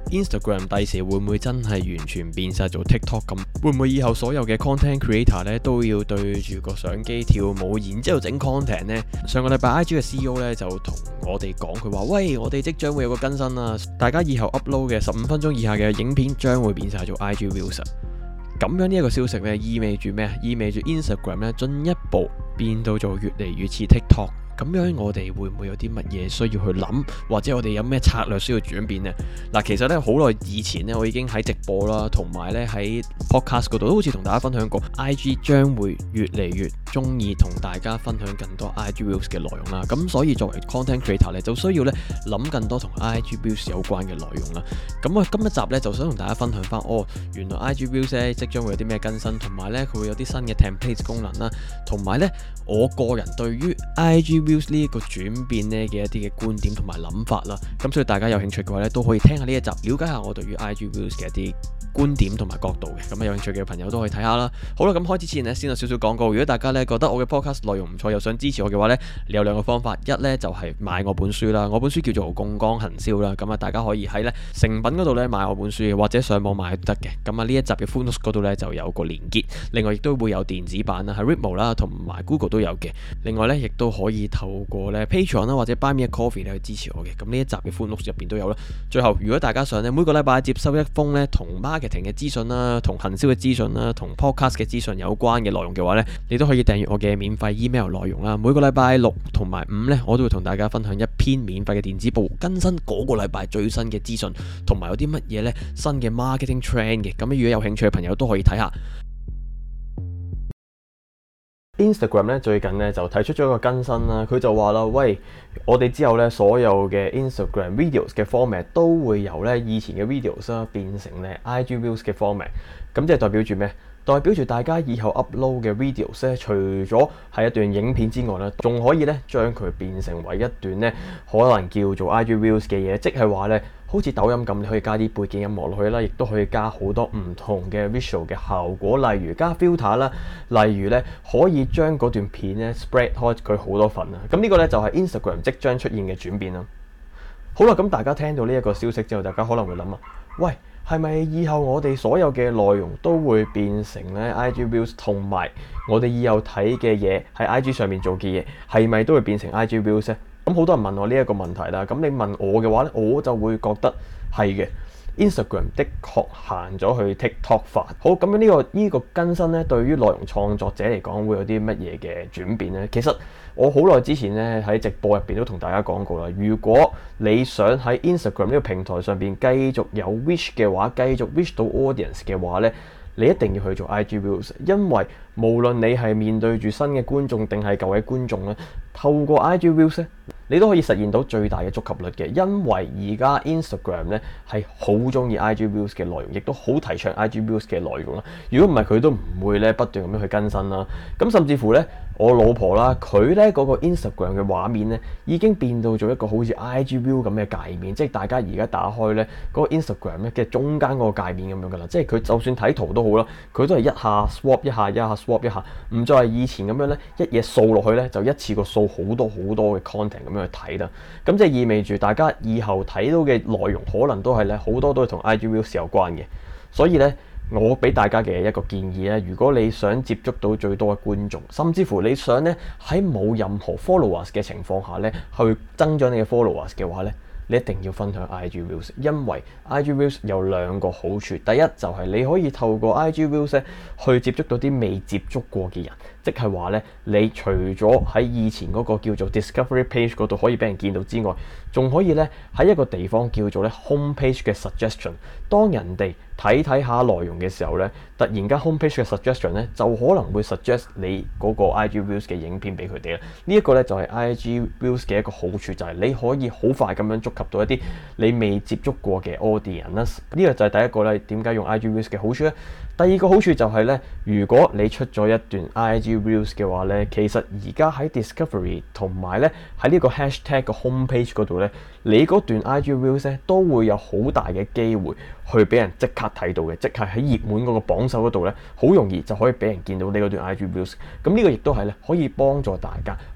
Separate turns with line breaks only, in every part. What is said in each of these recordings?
Instagram 第時會唔會真係完全變晒做 TikTok 咁？會唔會以後所有嘅 content creator 咧都要對住個相機跳舞，然之後整 content 呢？上個禮拜 IG 嘅 CEO 咧就同我哋講，佢話：喂，我哋即將會有個更新啦，大家以後 upload 嘅15分鐘以下嘅影片將會變晒做 IG Reels。咁樣呢一個消息咧，意味住咩啊？意味住 Instagram 咧進一步變到做越嚟越似 TikTok。咁樣我哋會唔會有啲乜嘢需要去諗，或者我哋有咩策略需要轉變呢？嗱，其實咧好耐以前咧，我已經喺直播啦，同埋咧喺 podcast 嗰度都好似同大家分享過 IG 將會越嚟越中意同大家分享更多 IG Reels 嘅內容啦。咁所以作為 content creator 咧，就需要咧諗更多同 IG Reels 有關嘅內容啦。咁我今一集咧就想同大家分享翻，原來 IG Reels 咧即將會有啲咩更新，同埋咧佢會有啲新嘅 template 功能啦，同埋咧我個人對於 IG Reels 呢一個轉變咧嘅一啲嘅觀點同埋諗法啦。咁所以大家有興趣嘅話咧，都可以聽下呢一集，了解下我對於 IG Reels 嘅一啲觀點同埋角度嘅。咁有興趣嘅朋友都可以睇下啦。好啦，咁開始之前呢，先有少少廣告。如果大家咧覺得我嘅 podcast 內容唔錯，又想支持我嘅話咧，你有兩個方法。一咧就係買我本書啦，我本書叫做《槓桿行銷》啦。咁啊，大家可以喺咧誠品嗰度咧買我本書，或者上網買都得嘅。咁啊，呢一集嘅 full notes 嗰度咧就有個連結。另外亦都會有電子版啦，喺 Readmo 啦同埋 Google 都有嘅。另外咧亦都可以透過咧 Patreon 啦或者 Buy Me a Coffee 咧去支持我嘅。咁呢一集嘅 full notes 入邊都有啦。最後，如果大家想咧每個禮拜接收一封咧同 marketing 嘅資訊啦、同行銷嘅資訊啦、同 podcast 嘅資訊有關嘅內容嘅話咧，你都可以訂閱我嘅免費 email 內容啦。每個禮拜6同埋5咧，我都會同大家分享一篇免費嘅電子報，更新嗰個禮拜最新嘅資訊，同埋有啲乜嘢咧新嘅 marketing trend 嘅。咁如果有興趣嘅朋友都可以睇下。Instagram 咧最近咧就提出咗一個更新啦，佢就話啦：喂，我哋之後咧所有嘅 Instagram videos 嘅 format 都會由咧以前嘅 videos 啦變成咧 IG Reels 嘅 format。咁即係代表住咩？代表住大家以後 upload 嘅 videos 咧，除咗係一段影片之外咧，仲可以咧將佢變成為一段咧可能叫做 IG Reels 嘅嘢，即係話咧好似抖音咁，你可以加啲背景音樂落去啦，亦都可以加好多唔同嘅 visual 嘅效果，例如加 filter 啦，例如咧可以將嗰段片咧 spread 開佢好多份啊。咁呢個咧就係 Instagram 即將出現嘅轉變啦。好啦，咁大家聽到呢一個消息之後，大家可能會諗啊，喂，係咪以後我哋所有嘅內容都會變成咧 IG Reels， 同埋我哋以後睇嘅嘢喺 IG 上面做嘅嘢，係咪都會變成 IG Reels 咧？咁好多人問我呢一個問題啦。咁你問我嘅話咧，我就會覺得係嘅。Instagram 的確行咗去 TikTok 化。好，咁樣呢個更新咧，對於內容創作者嚟講會有啲乜嘢嘅轉變咧？其實我好耐之前咧喺直播入邊都同大家講過啦。如果你想喺 Instagram 呢個平台上邊繼續有 reach 嘅話，繼續 reach 到 audience 嘅話咧，你一定要去做 IG Reels， 因為無論你係面對住新嘅觀眾定係舊嘅觀眾咧，透過 IG Reels 咧，你都可以實現到最大嘅觸及率嘅。因為而家 Instagram 咧係好中意 IG Reels 嘅內容，亦都好提倡 IG Reels 嘅內容啦。如果唔係佢都唔會咧不斷咁樣去更新啦。咁甚至乎咧，我老婆啦，佢咧嗰個 Instagram 嘅畫面咧已經變到咗一個好似 IG Reels 咁嘅界面，即係大家而家打開咧嗰個 Instagram 咧嘅中間嗰個界面咁樣噶啦。即係佢就算睇圖都好啦，佢都係一下 swap 一下，一下 swap 一下，唔再係以前咁樣咧一嘢掃落去咧就一次過掃好多嘅 content 咁樣去睇啦。咁即係意味住大家以後睇到嘅內容可能都係咧好多都係同 IG Reels 有關嘅。所以咧，我俾大家嘅一個建議咧，如果你想接觸到最多嘅觀眾，甚至乎你想咧喺冇任何 followers 嘅情況下咧去增長你嘅 followers 嘅話咧，你一定要分享 IG Reels， 因為 IG Reels 有兩個好處。第一就係你可以透過 IG Reels 咧去接觸到啲未接觸過嘅人，即係話咧你除咗喺以前嗰個叫做 Discovery Page 嗰度可以俾人見到之外，仲可以咧喺一個地方叫做咧 Home Page 嘅 Suggestion。當人哋睇下內容嘅時候咧，突然間 Home Page 嘅 Suggestion 咧就可能會 suggest 你嗰個 IG Reels 嘅影片俾佢哋啦。呢一個咧就係 IG Reels 嘅一個好處，就係你可以好快咁樣觸及到一啲你未接觸過嘅 audience。呢個就係第一個咧，點解用 IG Reels 嘅好處咧？第二個好處就係咧，如果你出咗一段 IG Reels 嘅話咧，其實而家喺 Discovery 同埋咧喺呢個 hashtag 嘅 Home Page 嗰度咧，你嗰段 IG Reels 咧都會有好大嘅機會去俾人即刻睇到嘅，即係喺熱門嗰個榜首嗰度咧，好容易就可以俾人見到你嗰段 IG Reels。咁呢個亦都係咧可以幫助大家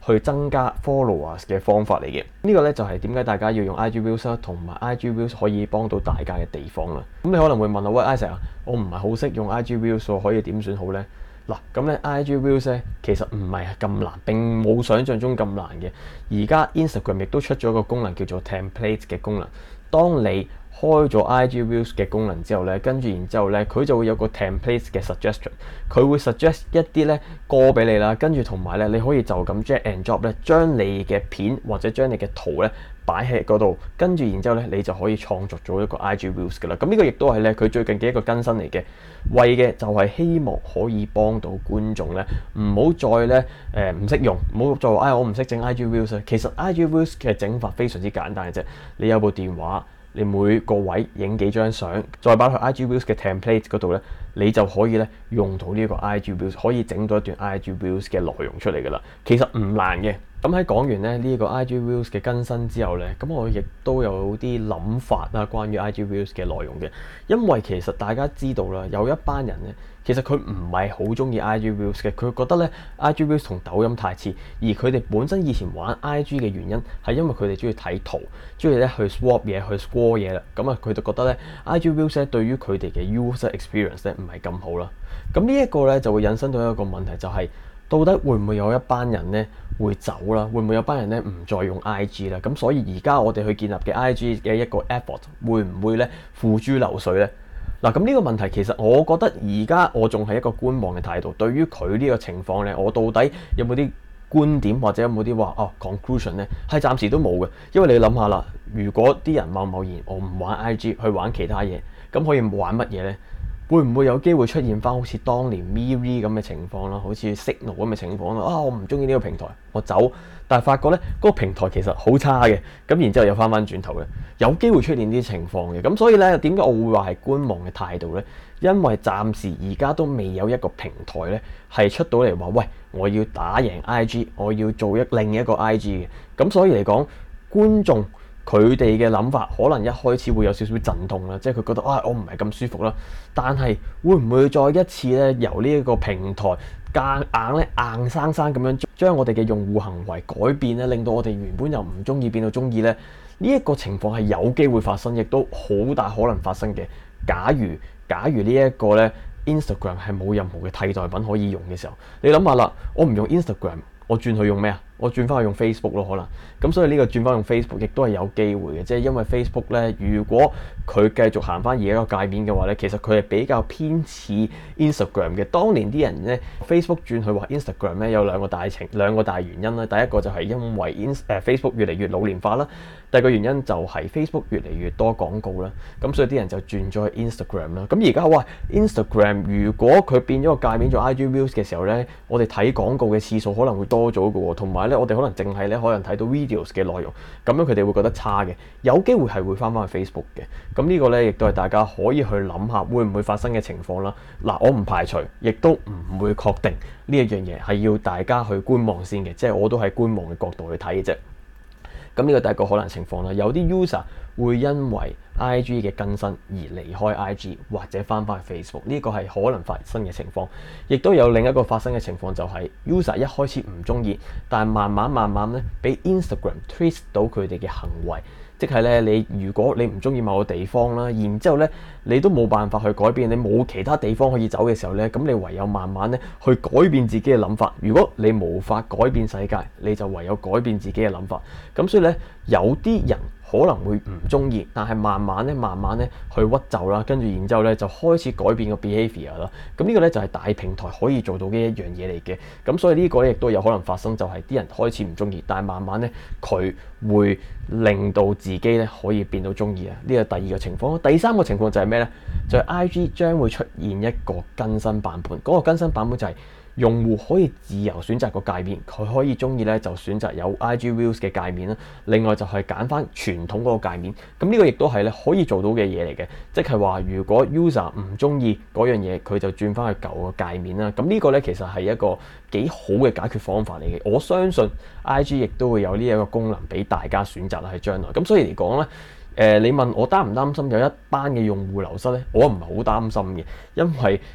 去增加 followers 嘅方法嚟嘅。呢個咧就係點解大家要用 IG Reels 啦，同埋 IG Reels 可以幫到大家嘅地方啦。咁你可能會問喂 Isaac 啊，我唔係好識用 IG Reels，可以點算好呢？嗱，咁咧 IG Reels 咧其實唔係咁難，並冇想象中咁難嘅。而家 Instagram 亦都出咗一個功能叫做 Template 嘅功能。當你開咗 IG Reels 嘅功能之後咧，跟住然之後咧，佢就會有個 template 嘅 suggestion， 佢會 suggest 一啲咧歌俾你啦，跟住同埋咧你可以就咁 drag and drop 咧，將你嘅片或者將你嘅圖咧擺喺嗰度，跟住然之後咧你就可以創作咗一個 IG Reels 噶啦。咁呢個亦都係咧佢最近嘅一個更新嚟嘅，為嘅就係希望可以幫到觀眾咧，唔好再咧唔識用，唔好再話我唔識整 IG Reels。其實 IG Reels 嘅整法非常之簡單嘅啫，你有部電話。你每個位影幾張相，再擺去 IG Reels 嘅 template 嗰度咧，你就可以咧用到呢個 IG Reels， 可以整到一段 IG Reels 嘅內容出嚟噶啦。其實唔難嘅。咁喺講完咧呢個 IG Reels 嘅更新之後咧，咁我亦都有啲諗法啦，關於 IG Reels 嘅內容嘅。因為其實大家知道啦，有一班人咧，其實佢唔係好中意 IG Reels 嘅，佢覺得咧 IG Reels 同抖音太似，而佢哋本身以前玩 IG 嘅原因係因為佢哋中意睇圖，中意咧去 swap 嘢，去 score 嘢啦。咁啊，佢就覺得咧 IG Reels 咧對於佢哋嘅 user experience 咧唔係咁好啦。咁呢一個咧就會引申到一個問題，就係到底會唔會有一班人咧會走啦？會唔會有班人咧唔再用 IG 啦？咁所以而家我哋去建立嘅 IG 嘅一個 effort 會唔會咧付諸流水咧？嗱，咁呢個問題其實我覺得而家我仲係一個觀望嘅態度。對於佢呢個情況咧，我到底有冇啲觀點或者有冇啲話conclusion 咧？係暫時都冇嘅，因為你諗下啦，如果啲人貿然我唔玩 IG 去玩其他嘢，咁可以玩乜嘢咧？會唔會有機會出現翻好似當年 MeWe 咁嘅情況啦，好似 Signal 咁嘅情況啦？我唔中意呢個平台，我走。但係發覺咧，嗰個平台其實好差嘅，咁然之後又翻轉頭嘅，有機會出現呢啲情況嘅。咁所以咧，點解我會話係觀望嘅態度咧？因為暫時而家都未有一個平台咧係出到嚟話，喂，我要打贏 IG， 我要做另一個 IG 嘅。咁所以嚟講，觀眾佢哋嘅諗法可能一開始會有少少陣痛啦，即係佢覺得我唔係咁舒服啦。但係會唔會再一次咧由呢一個平台硬生生咁樣將我哋嘅用戶行為改變咧，令到我哋原本由唔中意變到中意咧？呢一個情況係有機會發生，亦都好大可能發生嘅。假如呢一個咧 Instagram 係冇任何嘅替代品可以用嘅時候，你諗下啦，我唔用 Instagram， 我轉去用咩啊？我轉翻去用 Facebook 咯，可能咁，所以呢個轉翻用 Facebook 亦都係有機會嘅，即係因為 Facebook 咧，如果佢繼續行翻而家個界面嘅話咧，其實佢係比較偏似 Instagram 嘅。當年啲人咧 Facebook 轉去話 Instagram 咧，有兩個大原因啦。第一個就係因為Facebook 越嚟越老年化啦，第二個原因就係 Facebook 越嚟越多廣告啦，咁所以啲人就轉咗去 Instagram 啦。咁而家Instagram 如果佢變咗個界面做 IG Reels 嘅時候咧，我哋睇廣告嘅次數可能會多咗嘅喎，同埋咧我哋可能淨係咧可能睇到 videos 嘅內容，咁樣佢哋會覺得差嘅，有機會係會翻去 Facebook 嘅。咁呢個咧亦都係大家可以去諗下會唔會發生嘅情況啦。嗱，我唔排除，亦都唔會確定呢一樣嘢係要大家去觀望先嘅，即係我都係觀望嘅角度去睇嘅啫。咁呢個第一個可能情況啦，有啲 user 會因為 IG 嘅更新而離開 IG 或者翻去 Facebook， 呢個係可能發生嘅情況。亦都有另一個發生嘅情況，就係 user 一開始唔中意，但係慢慢咧俾 Instagram trace 到佢哋嘅行為。即係咧，如果你唔中意某個地方啦，然之後咧你都冇辦法去改變，你冇其他地方可以走嘅時候咧，咁你唯有慢慢咧去改變自己嘅諗法。如果你無法改變世界，你就唯有改變自己嘅諗法。咁所以咧，有啲人可能會唔中意，但係慢慢咧去屈就啦，跟住然之後咧就開始改變個 behavior 啦。咁呢個咧就係大平台可以做到嘅一樣嘢嚟嘅。咁所以呢個咧亦都有可能發生，就係啲人開始唔中意，但係慢慢咧佢會令到自己咧可以變到中意啊。呢個第二個情況。第三個情況就係咩咧？就係 IG 將會出現一個更新版本。嗰個更新版本就係用戶可以自由選擇個界面，佢可以中意咧就選擇有 IG Reels 嘅界面啦。另外就係揀翻傳統嗰個界面。咁呢個亦都係咧可以做到嘅嘢嚟嘅，即係話如果 user 唔中意嗰樣嘢，佢就轉翻去舊個界面啦。咁呢個咧其實係一個幾好嘅解決方法嚟嘅。我相信 IG 亦都會有呢一個功能俾大家選擇啦，喺將來。咁所以嚟講咧，你問我擔唔擔心有一班嘅用戶流失咧？我唔係好擔心嘅，因為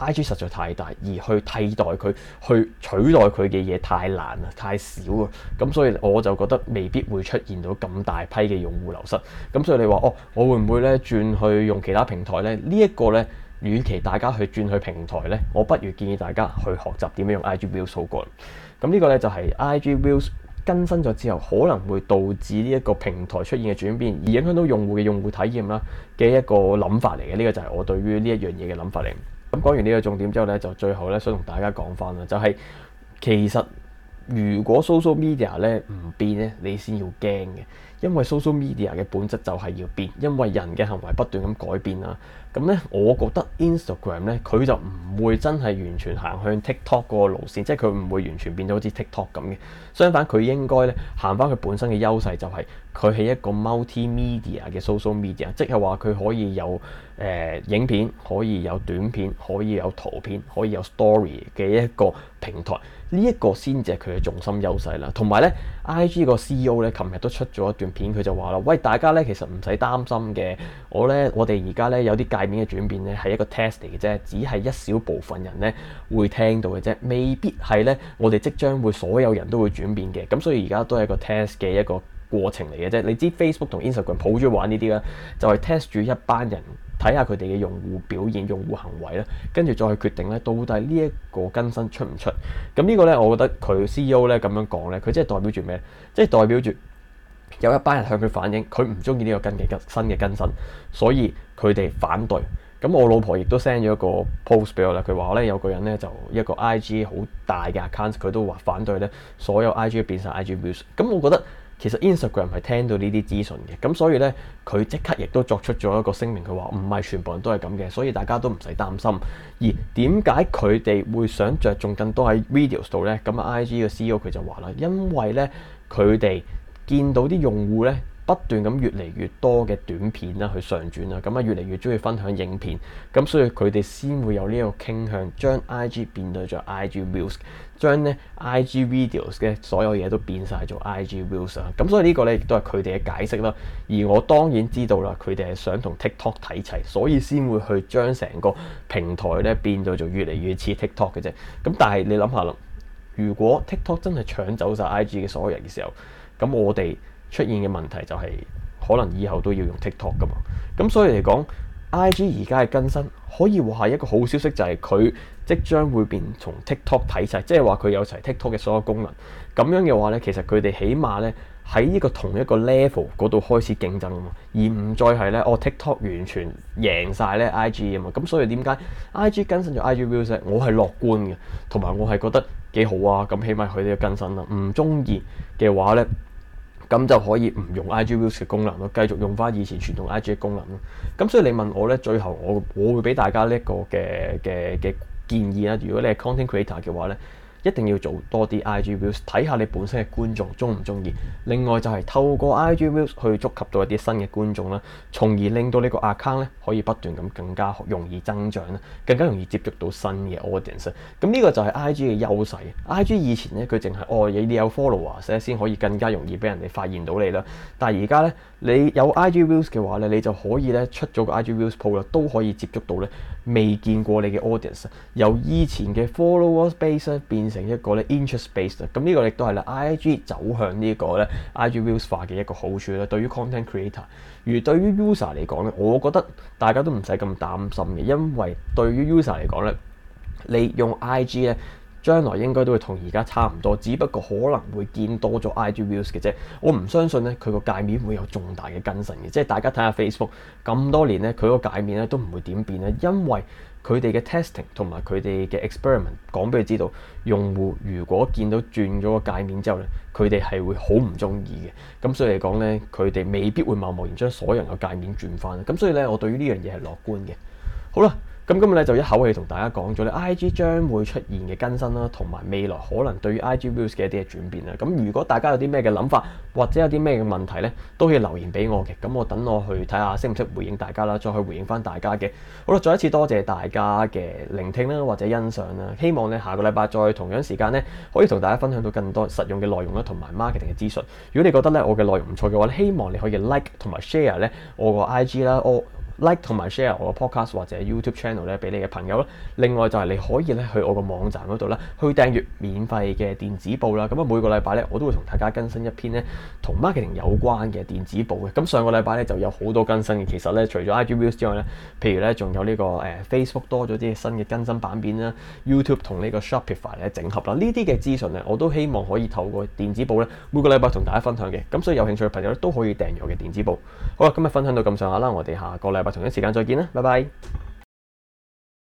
IG 實在太大，而去替代佢、去取代佢嘅嘢太難啦，太少啊。咁所以我就覺得未必會出現到咁大批嘅用戶流失。咁所以你話我會唔會咧轉去用其他平台咧？呢一個咧，與其大家去轉去平台咧，我不如建議大家去學習點樣用 IG Reels 好過。咁呢個咧就係 IG Reels 更新咗之後，可能會導致呢一個平台出現嘅轉變，而影響到用戶嘅用戶體驗啦嘅一個諗法嚟嘅。呢個就係我對於呢一樣嘢嘅諗法嚟。咁講完呢個重點之後咧，就最後咧想同大家講翻啦，就係其實如果 social media 咧唔變咧，你先要驚嘅，因為 social media 嘅本質就係要變，因為人嘅行為不斷咁改變啦。咁咧，我覺得 Instagram 咧佢就唔會真係完全行向 TikTok 嗰個路線，即係佢唔會完全變到好似 TikTok 咁嘅。相反，佢應該咧行翻佢本身嘅優勢，就係佢係一個 multimedia 嘅 social media，即係話佢可以有影片，可以有短片，可以有圖片，可以有 story 嘅一個平台。呢一個先至係佢嘅重心優勢啦。同埋咧 IG 個 CEO 咧，琴日都出咗一段片，佢就話啦：喂，大家咧其實唔使擔心嘅，我哋而家咧有啲界面嘅轉變咧係一個 test 嚟嘅啫，只係一小部分人咧會聽到嘅啫，未必係咧我哋即將會所有人都會轉變嘅。咁所以而家都係一個 test 嘅一個過程嚟嘅啫。你知 Facebook 同 Instagram 好中意玩呢啲啦，就係 test 住一班人，睇下佢哋嘅用戶表現、用戶行為啦，跟住再去決定咧到底呢一個更新出唔出。咁呢個咧，我覺得佢 CEO 咧咁樣講咧，佢即係代表住咩？即係代表住有一班人向佢反映，佢唔中意呢個新嘅更新，所以佢哋反對。咁我老婆亦都 send 咗一個 post 俾我啦，佢話咧有個人咧就一個 IG 好大嘅 account， 佢都話反對咧所有 IG 變晒 IG Reels。咁我覺得其實 Instagram 係聽到呢啲資訊嘅，咁所以咧佢即刻亦都作出咗一個聲明，佢話唔係全部人都係咁嘅，所以大家都唔使擔心。而點解佢哋會想着重更多喺 videos 度咧？咁 IG 嘅 CEO 佢就話啦，因為咧佢哋見到啲用戶咧不斷咁越嚟越多嘅短片啦去上傳啦，咁啊越嚟越中意分享影片，咁所以佢哋先會有呢個傾向，將 IG 變到做 IG Reels， 將咧 IG videos 嘅所有嘢都變晒做 IG Reels 啊。咁所以呢個咧亦都係佢哋嘅解釋啦。而我當然知道啦，佢哋係想同 TikTok 睇齊，所以先會去將成個平台咧變到做越嚟越似 TikTok 嘅啫。咁但係你諗下啦，如果 TikTok 真係搶走晒 IG 嘅所有人嘅時候，咁我哋出現嘅問題就係可能以後都要用 TikTok 噶嘛。咁所以嚟講 IG 而家嘅更新可以話係一個好消息，就係佢即將會變從 TikTok 睇齊，即係話佢有齊 TikTok 嘅所有功能。咁樣嘅話咧，其實佢哋起碼咧喺呢個同一個 level 嗰度開始競爭啊嘛，而唔再係咧TikTok 完全贏晒咧 IG 啊嘛。咁所以點解 IG 更新咗 IG Reels 咧？我係樂觀嘅，同埋我係覺得幾好啊。咁起碼佢哋嘅更新啦，唔中意嘅話咧，咁就可以唔用 IG Reels 嘅功能咯，繼續用翻以前傳統 IG 嘅功能咯。咁所以你問我咧，最後我會俾大家呢一個嘅建議啦。如果你係 content creator 嘅話咧，一定要做多啲 IG Reels， 睇下你本身嘅觀眾中唔中意。另外就係透過 IG Reels 去觸及到一啲新嘅觀眾啦，從而令到呢個 account 咧可以不斷咁更加容易增長啦，更加容易接觸到新嘅 audience。咁呢個就係 IG 嘅優勢。IG 以前咧佢淨係你有 followers 咧先可以更加容易俾人哋發現到你啦。但係而家咧你有 IG Reels 嘅話咧，你就可以咧出咗個 IG Reels post 啦，都可以接觸到咧未見過你嘅 audience， 由以前嘅 followers base 變成一個咧 interest base。咁呢個亦都係咧 IG 走向呢個咧 IG Reels 化嘅一個好處咧，對於 content creator。而對於 user 嚟講咧，我覺得大家都唔使咁擔心嘅，因為對於 user 嚟講咧，你用 IG 咧，將來應該都會同而家差唔多，只不過可能會見多咗 IG Reels 嘅啫。我唔相信咧佢個界面會有重大嘅更新嘅，即係大家睇下 Facebook 咁多年咧，佢個界面咧都唔會點變咧，因為佢哋嘅 testing 同埋佢哋嘅 experiment 講俾佢知道，用戶如果見到轉咗個界面之後咧，佢哋係會好唔中意嘅。咁所以嚟講咧，佢哋未必會貿貿然將所有人嘅界面轉翻。咁所以咧，我對於呢樣嘢係樂觀嘅。好啦。咁今日咧就一口氣同大家講咗咧 IG 將會出現嘅更新啦，同埋未來可能對於 IG Reels 嘅一啲嘅轉變啦。咁如果大家有啲咩嘅諗法，或者有啲咩嘅問題咧，都可以留言俾我嘅。咁我等我去睇下識唔識回應大家啦，再去回應翻大家嘅。好啦，再一次多謝大家嘅聆聽啦，或者欣賞啦。希望咧下個禮拜再同樣時間咧，可以同大家分享到更多實用嘅內容啦，同埋 marketing 嘅資訊。如果你覺得咧我嘅內容唔錯嘅話咧，希望你可以 like 同埋 share 咧我個 IG 啦， like 同埋 share 我個 podcast 或者 YouTube channel 咧俾你嘅朋友啦。另外就係你可以咧去我個網站嗰度咧去訂閱免費嘅電子報啦。咁啊每個禮拜咧我都會同大家更新一篇咧同 marketing 有關嘅電子報嘅。咁上個禮拜咧就有好多更新嘅。其實咧除咗 IG Reels 之外咧，譬如咧仲有呢個Facebook 多咗啲新嘅更新版面啦 ，YouTube 同呢個 Shopify 咧整合啦。呢啲嘅資訊咧我都希望可以透過電子報咧每個禮拜同大家分享嘅。咁所以有興趣嘅朋友咧都可以訂閱我嘅電子報。好啦，今日分享到咁上下啦，我哋下個禮拜同一時間再見啦，拜拜。